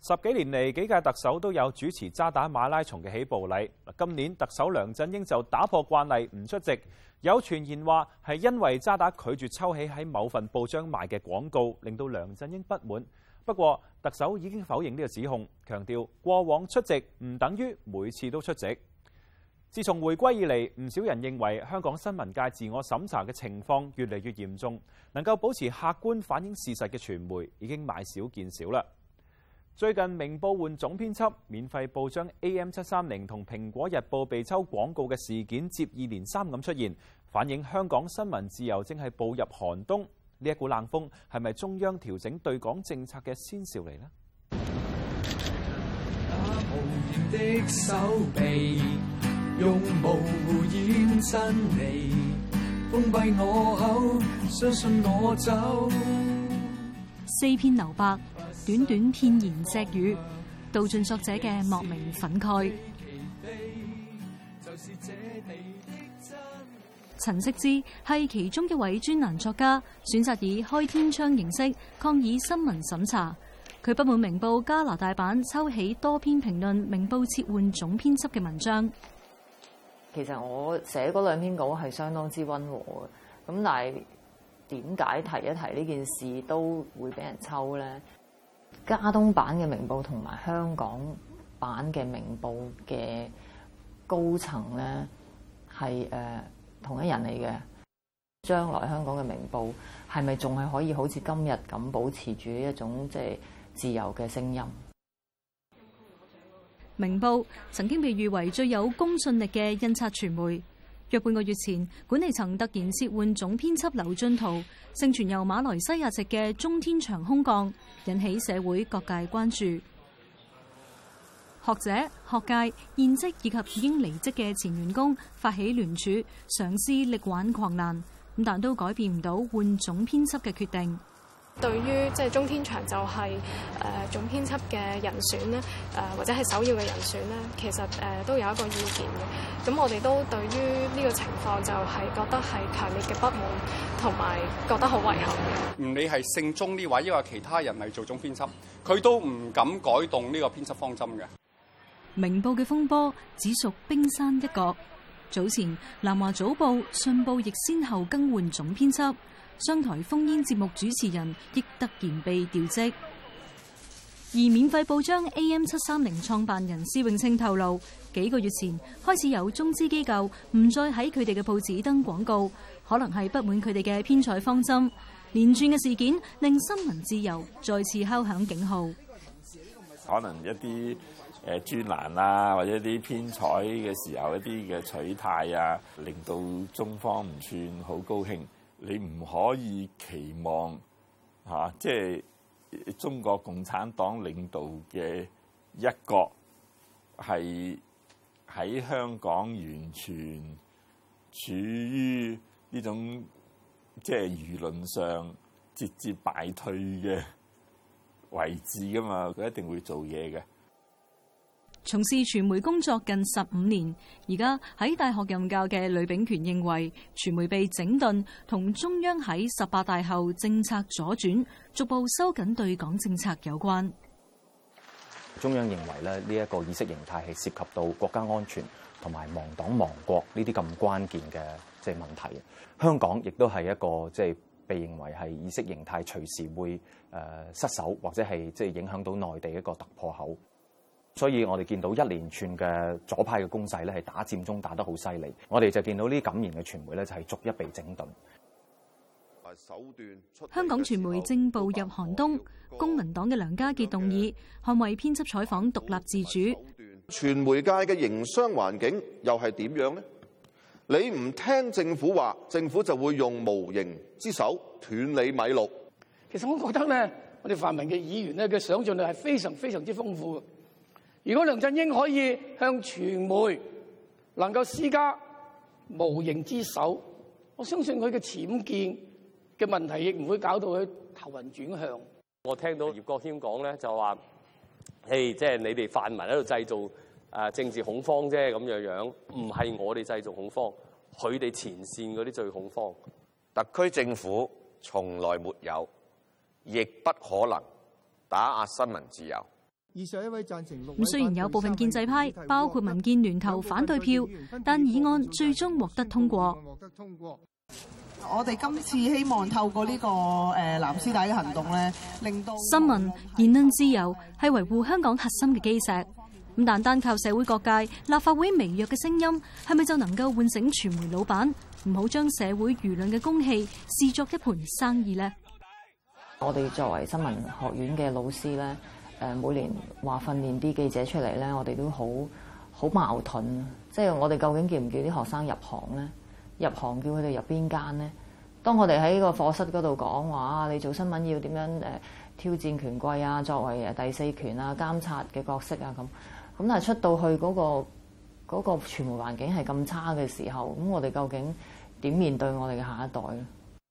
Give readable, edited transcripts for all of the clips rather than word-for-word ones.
10幾年嚟，幾屆特首都有主持渣打馬拉松嘅起步禮。今年特首梁振英就打破慣例唔出席，有傳言話係因為渣打拒絕抽起喺某份報章賣嘅廣告，令到梁振英不滿。不過特首已經否認呢個指控，強調過往出席唔等於每次都出席。自從回歸以嚟，唔少人認為香港新聞界自我審查嘅情況越嚟越嚴重，能夠保持客觀反映事實嘅傳媒已經買少見少啦。最近明報換總編輯，免費報章 AM730 同蘋果日報被抽廣告嘅事件接二連三咁出現，反映香港新聞自由正係步入寒冬。呢一股冷風係咪中央調整對港政策嘅先兆嚟呢？ 無形的手臂用模糊掩真理，封閉我口，相信我走。 4篇留白，短短片言隻語，道盡作者嘅莫名憤慨。陳惜之係其中一位專欄作家，選擇以開天窗形式抗議新聞審查。佢不滿明報加拿大版抽起多篇評論明報撤換總編輯嘅文章。 其實我寫嗰2篇稿係相當之溫和嘅，咁但係點解提一提呢件事都會俾人抽咧？加東版嘅明報同埋香港版嘅明報嘅高層咧係同一人嚟嘅。將來香港嘅明報係咪仲係可以好似今日咁保持住一種即係自由嘅聲音？ 明報曾經被譽為最有公信力嘅印刷傳媒。約半個月前，管理層突然撤換總編輯劉進圖，盛傳由馬來西亞籍嘅中天祥空降，引起社會各界關注。學者、學界、現職以及已經離職嘅前員工發起聯署，嘗試力挽狂瀾，但都改變唔到換總編輯嘅決定。 對於即係中天祥就係總編輯嘅人選咧，或者係首要嘅人選咧，其實都有一個意見嘅。咁我哋都對於呢個情況就係覺得係強烈嘅不滿，同埋覺得好遺憾嘅。 唔理係姓鍾呢位，抑或其他人嚟做總編輯，佢都唔敢改動呢個編輯方針嘅。 明報嘅風波只屬冰山一角。早前南華早報、信報亦先後更換總編輯，商台烽煙節目主持人亦突然被調職。而免費報章 AM730 創辦人施永青透露，幾個月前開始有中資機構唔再喺佢哋嘅報紙登廣告，可能係不滿佢哋嘅編採方針。連串嘅事件令新聞自由再次敲響警號。 可能一啲專欄啊，或者一啲編採嘅時候一啲嘅取態啊，令到中方唔算好高興。你唔可以期望即係中國共產黨領導嘅一國係喺香港完全處於呢種即係輿論上節節敗退嘅位置噶嘛，佢一定會做嘢嘅。 從事傳媒工作近15年，而家喺大學任教嘅呂秉權認為，傳媒被整頓同中央喺18大後政策左轉，逐步收緊對港政策有關。 中央認為咧，呢一個意識形態係涉及到國家安全同埋亡黨亡國呢啲咁關鍵嘅即係問題。香港亦都係一個即係被認為係意識形態隨時會失守或者係即係影響到內地一個突破口。所以我哋見到一連串嘅左派嘅攻勢咧，係打佔中打得好犀利。我哋就見到呢啲敢言嘅傳媒咧，就係逐一被整頓。 香港傳媒正步入寒冬，公民黨嘅梁家傑動議捍衛編輯採訪獨立自主。 傳媒界嘅營商環境又係點樣呢？你唔聽政府話，政府就會用無形之手斷你米路。 其實我覺得咧，我哋泛民嘅議員咧嘅想像力係非常非常之豐富嘅。如果梁振英可以向傳媒能夠施加無形之手，我相信佢嘅僭建嘅問題亦唔會搞到佢頭暈轉向。 我聽到葉國謙講咧，就話：即係你哋泛民喺度製造政治恐慌啫，咁樣唔係我哋製造恐慌，佢哋前線嗰啲最恐慌。 特區政府從來沒有，亦不可能打壓新聞自由。 以上一位贊成6位。 咁雖然有部分建制派，包括民建聯投反對票，但議案最終獲得通過。 我哋今次希望透過呢個藍絲帶嘅行動咧，令到新聞言論自由係維護香港核心嘅基石。咁但單靠社會各界、立法會微弱嘅聲音，係咪就能夠喚醒傳媒老闆，唔好將社會輿論嘅公器視作一盤生意呢？ 我哋作為新聞學院嘅老師咧，每年話訓練啲記者出嚟咧，我哋都好矛盾。即係我哋究竟叫唔叫啲學生入行咧？入行叫佢哋入邊間咧？當我哋喺個課室嗰度講話，你做新聞要點樣挑戰權貴啊？作為第四權啊、監察嘅角色啊咁。咁但係出到去嗰個傳媒環境係咁差嘅時候，咁我哋究竟點面對我哋嘅下一代咧？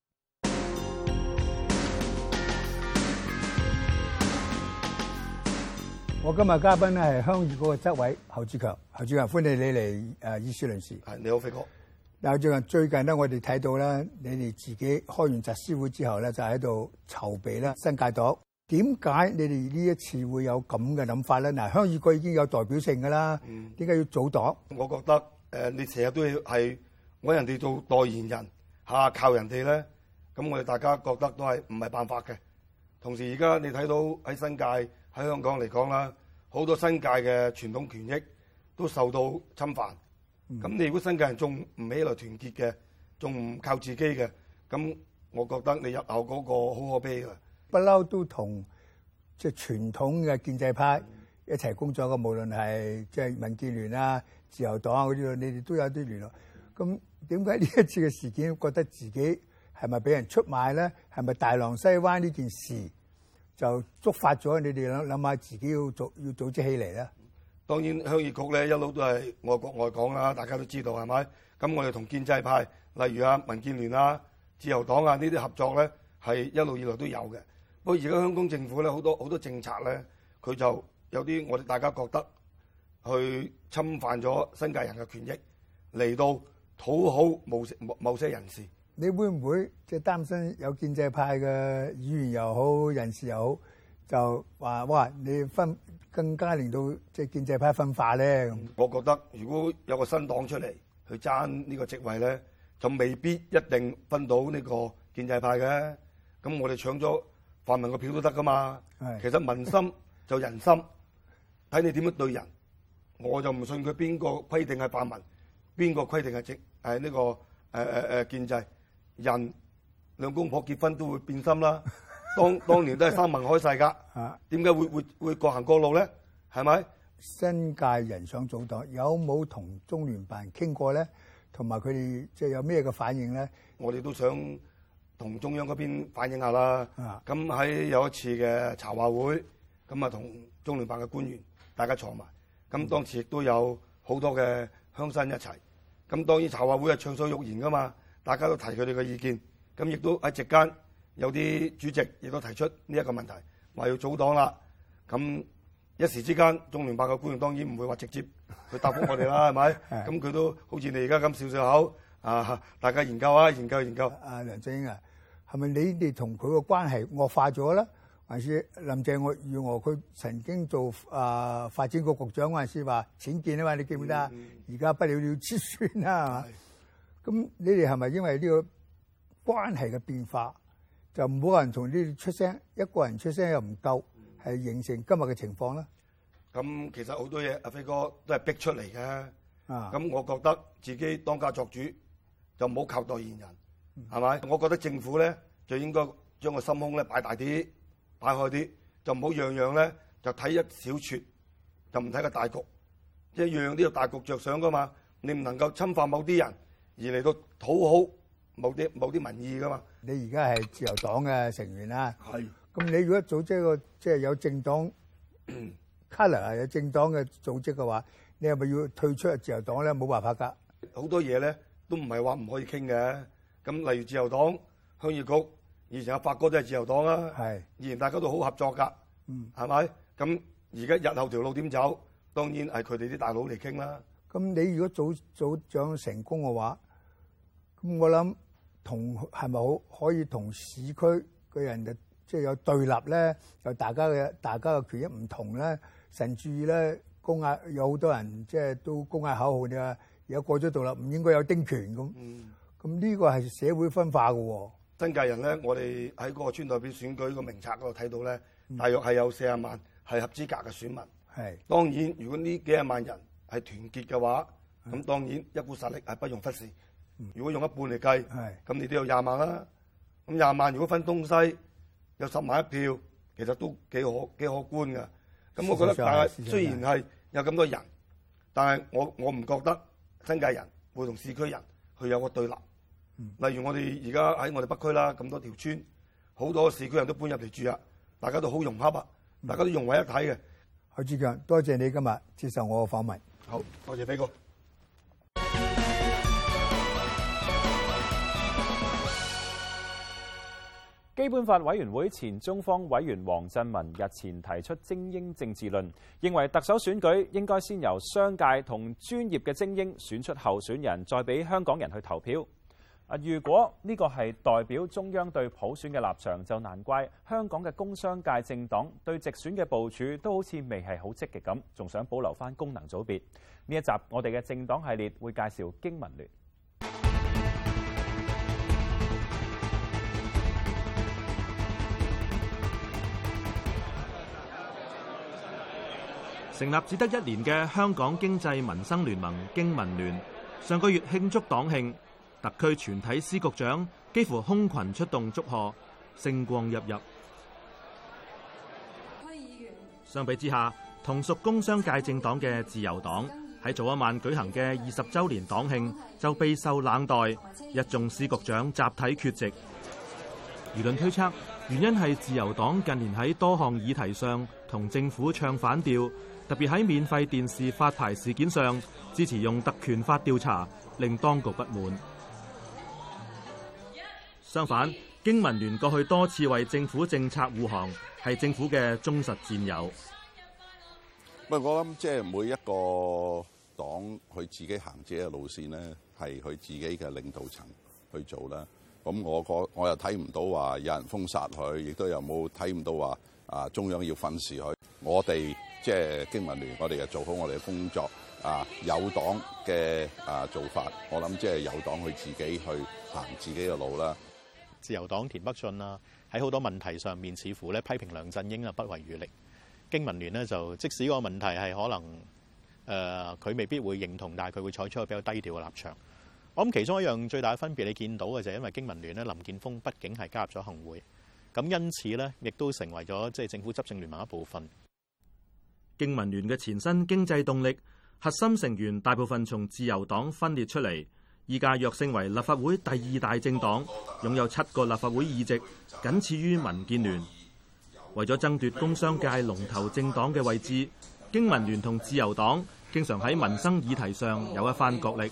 我今日嘉賓咧係鄉議局嘅執委侯志強，侯志強歡迎你嚟議事論事。 係，你好，飛哥。 嗱，最近咧，我哋睇到咧，你哋自己開完集思會之後咧，就喺度籌備咧新界黨。點解你哋呢一次會有咁嘅諗法咧？嗱，鄉議局已經有代表性㗎啦，點解要組黨？ 我覺得你成日都要係揾人哋做代言人嚇，靠人哋咧，咁我哋大家覺得都係唔係辦法嘅。同時而家你睇到喺新界喺香港嚟講啦，好多新界嘅傳統權益都受到侵犯。咁你如果新界人仲唔起來團結嘅，仲唔靠自己嘅，咁我覺得你日後嗰個好可悲㗎。 不嬲都同即係傳統嘅建制派一齊工作嘅，無論係即係民建聯啊、自由黨啊嗰啲，你哋都有啲聯絡。咁點解呢一次嘅事件覺得自己係咪俾人出賣咧？係咪大浪西灣呢件事就觸發咗你哋諗下自己要組織起嚟咧？ 當然鄉議局咧一路都係愛國愛港啦，大家都知道係咪？咁我哋同建制派，例如民建聯啊、自由黨啊呢啲合作咧，係一路以來都有嘅。不過而家香港政府咧好多政策咧，佢就有啲我哋大家覺得去侵犯咗新界人嘅權益，嚟到討好某些人士。 你會唔會即係擔心有建制派嘅議員又好、人士又好，就話哇你更加令到即係建制派分化咧？ 我覺得如果有個新黨出嚟去爭呢個職位咧，就未必一定分到呢個建制派嘅。咁我哋搶咗泛民個票都得噶嘛。其實民心就人心，睇你點樣對人。我就唔信佢邊個規定係泛民，邊個規定係呢個建制。人兩公婆結婚都會變心啦。當年都係三盟開誓㗎，點解會各行各路咧？係咪？ 新界人想組黨，有冇同中聯辦傾過咧？同埋佢哋即係有咩嘅反應咧？ 我哋都想同中央嗰邊反映下啦。咁喺有一次嘅茶話會，咁啊同中聯辦嘅官員大家坐埋，咁當時亦都有好多嘅鄉紳一齊。咁當然茶話會係暢所欲言㗎嘛，大家都提佢哋嘅意見，咁亦都喺席間。有啲主席亦都提出呢一個問題，話要組黨啦。咁一時之間，中聯辦嘅官員當然唔會話直接去答覆我哋啦，係咪？咁佢都好似你而家咁笑口啊，大家研究啊，研究。 梁振英啊，係咪你哋同佢個關係惡化咗咧？還是林鄭月娥佢曾經做發展局局長嗰陣時話僭建啊嘛？你記唔記得啊？而家不了了之算啦，係嘛？咁你哋係咪因為呢個關係嘅變化？就冇人同呢啲出聲，一個人出聲又唔夠，係形成今日嘅情況啦。 咁其實好多嘢，阿飛哥都係逼出嚟嘅。咁我覺得自己當家作主，就唔好靠代言人，係咪？我覺得政府咧就應該將個心胸咧擺大啲，擺開啲，就唔好樣樣咧就睇一小撮，就唔睇個大局。即係樣樣都要大局着想噶嘛。你唔能夠侵犯某啲人而嚟到討好某啲民意噶嘛。 你而家係自由黨嘅成員啦，咁你如果組織一個即係有政黨 colour 有政黨嘅組織嘅話，你係咪要退出自由黨咧？冇辦法㗎， 好多嘢咧都唔係話唔可以傾嘅。咁例如自由黨、鄉議局，以前阿發哥都係自由黨啦，以前大家都好合作㗎，係咪？咁而家日後條路點走，當然係佢哋啲大佬嚟傾啦。 咁你如果組長成功嘅話，咁我諗。係咪可以同市區嘅人就即係有對立咧，有大家嘅權益唔同咧，甚至咧公嗌有好多人即係都公嗌口號你話，而家過咗獨立唔應該有丁權咁。咁呢個係社會分化嘅喎。 新界人咧，我哋喺嗰個村代表選舉個名冊嗰度睇到咧，大約係有40萬係合資格嘅選民。 係當然，如果呢幾廿萬人係團結嘅話，咁當然一股實力係不容忽視。如果用一半嚟計，咁你都有20萬啦。咁20萬如果分東西有10萬一票，其實都幾可觀㗎。咁我覺得，但係雖然係有咁多人，但係我唔覺得新界人會同市區人去有個對立。例如我哋而家喺我哋北區啦，咁多條村，好多市區人都搬入嚟住啊，大家都好融洽啊，大家都融為一體嘅。 許志強，多謝你今日接受我嘅訪問。 好，多謝飛哥。 基本法委員會前中方委員黃振民日前提出精英政治論，認為特首選舉應該先由商界同專業嘅精英選出候選人，再俾香港人去投票。如果呢個係代表中央對普選嘅立場，就難怪香港嘅工商界政黨對直選嘅部署都好似未係好積極咁，仲想保留返功能組別。呢一集我哋嘅政黨系列會介紹經民聯。成立只得1年嘅香港經濟民生聯盟經民聯，上個月慶祝黨慶，特區全體司局長幾乎空群出動祝賀，星光熠熠。相比之下，同屬工商界政黨嘅自由黨喺早一晚舉行嘅20週年黨慶就備受冷待，一眾司局長集體缺席。輿論推測原因係自由黨近年喺多項議題上同政府唱反調，特別喺免費電視發牌事件上支持用特權法調查，令當局不滿。相反，經民聯過去多次為政府政策護航，係政府嘅忠實戰友。 我諗即係每一個黨佢自己行自己嘅路線咧，係佢自己嘅領導層去做啦。咁我又睇唔到話有人封殺佢，亦都有冇睇唔到話中央要訓示佢。我哋即係經民聯，我哋就做好我哋嘅工作。有黨嘅做法，我諗即係有黨佢自己去行自己嘅路啦。 自由黨田北俊啊，喺好多問題上面似乎咧批評梁振英啊不遺餘力。經民聯呢，就即使個問題係可能佢未必會認同，但係佢會採取一個比較低調嘅立場。我諗其中一樣最大嘅分別，你見到嘅就係因為經民聯咧，林健鋒畢竟係加入咗行會，咁因此呢，亦都成為咗即係政府執政聯盟一部分。經民聯嘅前身經濟動力核心成員大部分從自由黨分裂出嚟，依家躍升為立法會第2大政黨，擁有7個立法會議席，僅次於民建聯。為咗爭奪工商界龍頭政黨嘅位置，經民聯同自由黨經常喺民生議題上有一番角力。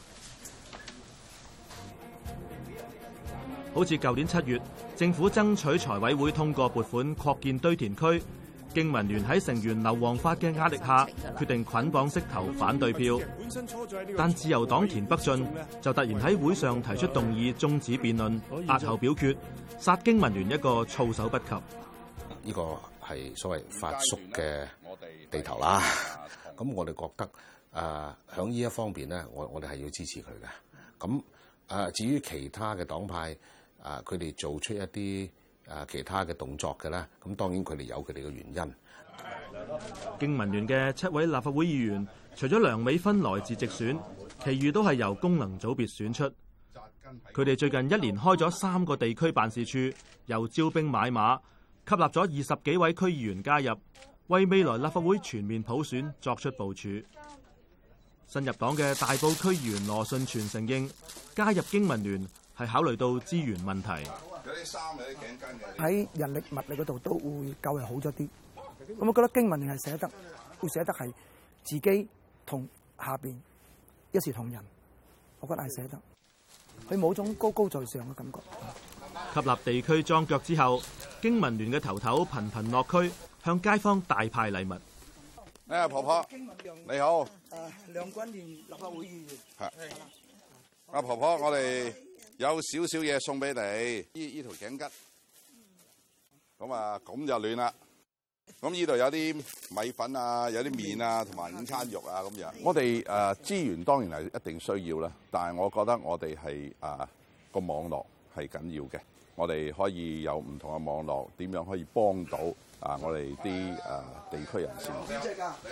好似舊年7月，政府爭取財委會通過撥款擴建堆填區，經民聯喺成員劉皇發嘅壓力下，決定捆綁式投反對票。但自由黨田北俊就突然喺會上提出動議終止辯論，押後表決，殺經民聯一個措手不及。 呢個係所謂發叔嘅地頭啦。咁我哋覺得響呢一方面咧，我哋係要支持佢嘅。咁至於其他嘅黨派佢哋做出一啲其他嘅動作嘅咧，咁當然佢哋有佢哋嘅原因。 經民聯嘅7位立法會議員，除咗梁美芬來自直選，其餘都係由功能組別選出。佢哋最近1年開咗3個地區辦事處，又招兵買馬，吸納咗20幾位區議員加入，為未來立法會全面普選作出部署。新入黨嘅大埔區議員羅順全承認，加入經民聯係考慮到資源問題。 喺人力物力嗰度都會較為好咗啲。咁我覺得經民聯係會寫得係自己同下邊一視同仁，我覺得係寫得。佢冇種高高在上嘅感覺。 吸納地區樁腳之後，經民聯嘅頭頭頻頻落區，向街坊大派禮物。 婆婆，你好。 梁君彥立法會議員。 係。婆婆，我哋有少少嘢送俾你，呢條頸巾。 咁就亂啦。咁呢度有啲米粉啊，有啲麵啊，同埋午餐肉啊咁樣。我哋資源當然係一定需要啦，但係我覺得我哋係個網絡係緊要嘅。我哋可以有唔同嘅網絡，點樣可以幫到我哋啲地區人士。你好。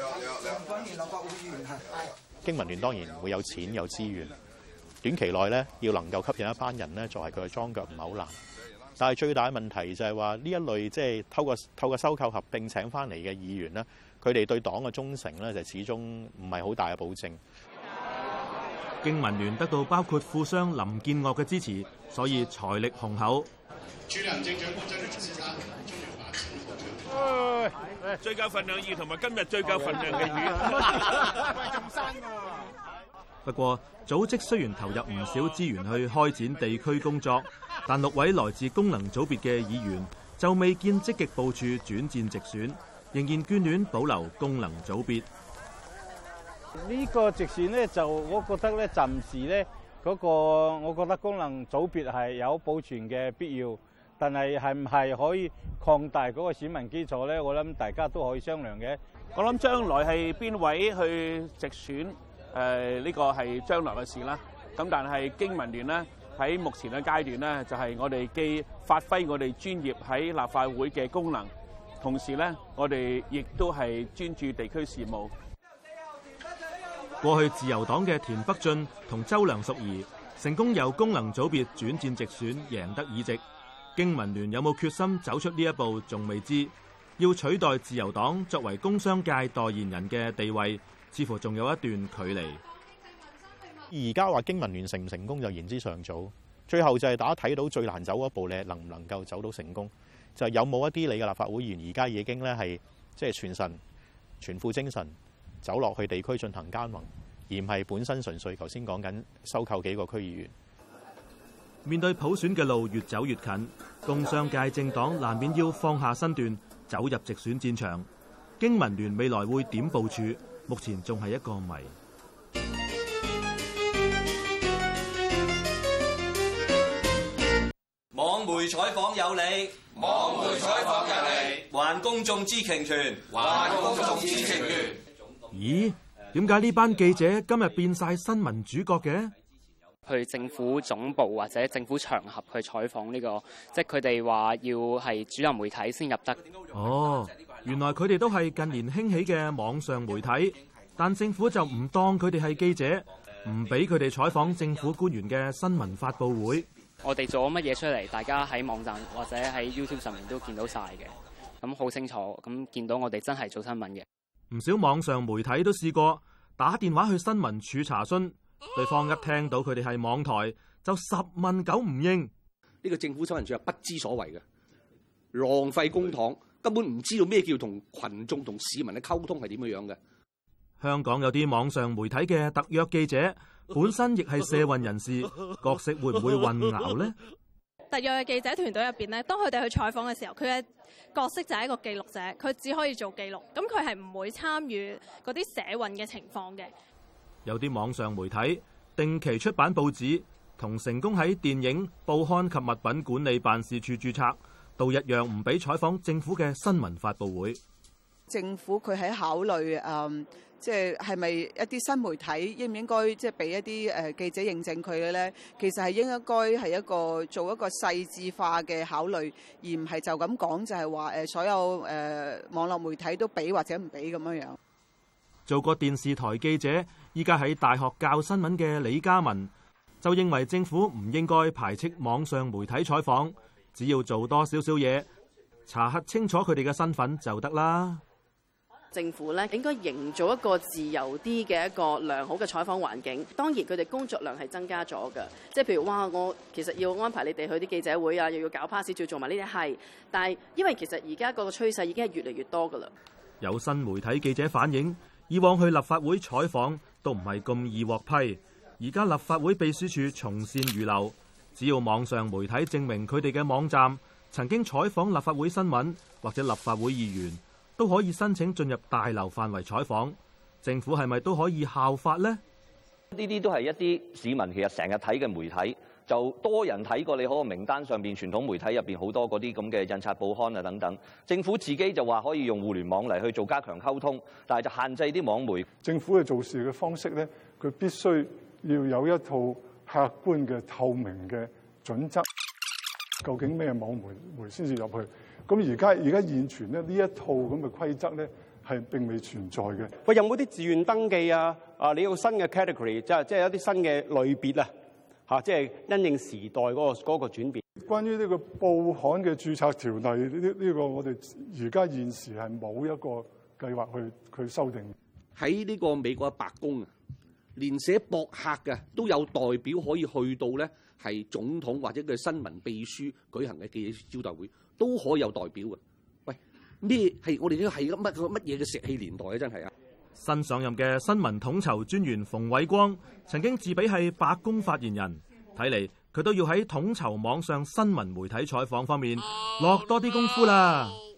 經民聯當然會有錢有資源，短期內咧要能夠吸引一班人咧作為佢嘅莊腳唔係好難。但係最大嘅問題就係話呢一類即係透過收購合併請翻嚟嘅議員咧，佢哋對黨嘅忠誠咧就始終唔係好大嘅保證。 經民聯得到包括富商林建岳嘅支持，所以財力雄厚。 去年政長官真係先生最夠份量魚同埋今日最夠份量嘅魚。 仲生㗎。不過組織雖然投入唔少資源去開展地區工作，但6位來自功能組別嘅議員就未見積極部署轉戰直選，仍然眷戀保留功能組別。 呢個直選咧，就我覺得咧，暫時咧我覺得功能組別係有保存嘅必要，但係係唔係可以擴大嗰個選民基礎咧？我諗大家都可以商量嘅。 我諗將來係邊位去直選，呢個係將來嘅事啦。咁但係經民聯呢，喺目前嘅階段呢，就係我哋既發揮我哋專業喺立法會嘅功能，同時呢，我哋亦都係專注地區事務。 過去自由黨嘅田北俊同周梁淑怡成功由功能組別轉戰直選，贏得議席。經民聯有冇決心走出呢一步，仲未知。要取代自由黨作為工商界代言人嘅地位，似乎仲有一段距離。 而家話經民聯成唔成功就言之尚早，最後就係大家睇到最難走一步，你能唔能夠走到成功？就係有冇一啲你嘅立法會議員而家已經咧係即係全神全副精神走落去地區進行耕耘，而唔係本身純粹頭先講緊收購幾個區議員。 面對普選嘅路越走越近，工商界政黨難免要放下身段，走入直選戰場。經民聯未來會點部署？目前仲係一個謎。 網媒採訪有理， 網媒採訪有理， 還公眾知情權， 還公眾知情權。 咦？點解呢班記者今日變晒新聞主角嘅？ 去政府總部或者政府場合去採訪呢個，即係佢哋話要係主流媒體先入得。 哦，原來佢哋都係近年興起嘅網上媒體，但政府就唔當佢哋係記者，唔俾佢哋採訪政府官員嘅新聞發佈會。 我哋做咗乜嘢出嚟，大家喺網站或者喺 YouTube 上面都見到晒嘅，咁好清楚，咁見到我哋真係做新聞嘅。 唔少網上媒體都試過打電話去新聞處查詢。對方一聽到佢哋係網台，就10問9唔應。 呢個政府新聞處係不知所謂嘅，浪費公帑，根本唔知道咩叫同群眾同市民嘅溝通係點樣嘅。 香港有啲網上媒體嘅特約記者，本身亦係社運人士，角色會唔會混淆呢？ 特約嘅記者團隊入邊咧，當佢哋去採訪嘅時候，佢嘅角色就係一個記錄者，佢只可以做記錄，咁佢係唔會參與嗰啲社運嘅情況嘅。 有啲網上媒體定期出版報紙，同成功喺電影、報刊及物品管理辦事處註冊，都一樣唔俾採訪政府嘅新聞發佈會。 政府佢喺考慮即係咪一啲新媒體應唔應該即係俾一啲記者認證佢嘅咧？其實係應該係做一個細緻化嘅考慮，而唔係就咁講就係話所有網絡媒體都俾或者唔俾咁樣樣。 做過電視台記者，依家喺大學教新聞嘅李嘉文就認為政府唔應該排斥網上媒體採訪，只要做多少少嘢，查核清楚佢哋嘅身份就得啦。 政府咧應該營造一個自由啲嘅一個良好嘅採訪環境。當然佢哋工作量係增加咗㗎，即係譬如我其實要安排你哋去啲記者會啊，又要搞 pass， 要做埋呢啲係。但係因為其實而家個趨勢已經係越嚟越多㗎啦。 有新媒體記者反映，以往去立法會採訪都唔係咁易獲批，而家立法會秘書處從善如流，只要網上媒體證明佢哋嘅網站曾經採訪立法會新聞或者立法會議員，都可以申請進入大樓範圍採訪。政府係咪都可以效法呢？ 呢啲都係一啲市民其實成日睇嘅媒體， 就多人睇過你嗰個名單上邊傳統媒體入邊好多嗰啲咁嘅印刷報刊啊等等。政府自己就話可以用互聯網嚟去做加強溝通，但係就限制啲網媒。 政府嘅做事嘅方式咧，佢必須要有一套客觀嘅透明嘅準則。究竟咩網媒先至入去？咁而家現存咧呢一套咁嘅規則咧係並未存在嘅。 喂，有冇啲自願登記啊？你有新嘅 category， 即係有啲新嘅類別啊？嚇，即係因應時代嗰個轉變。關於呢個報刊嘅註冊條例，呢個我哋而家現時係冇一個計劃去修訂。 喺呢個美國嘅白宮啊，連寫博客嘅都有代表可以去到咧，係總統或者佢新聞秘書舉行嘅記者招待會，都可以有代表嘅。喂，咩係我哋呢個係乜嘢嘅石器年代啊？真係啊！ 新上任嘅新聞統籌專員馮偉光曾經自比係白宮發言人，睇嚟佢都要喺統籌網上新聞媒體採訪方面落多啲功夫啦。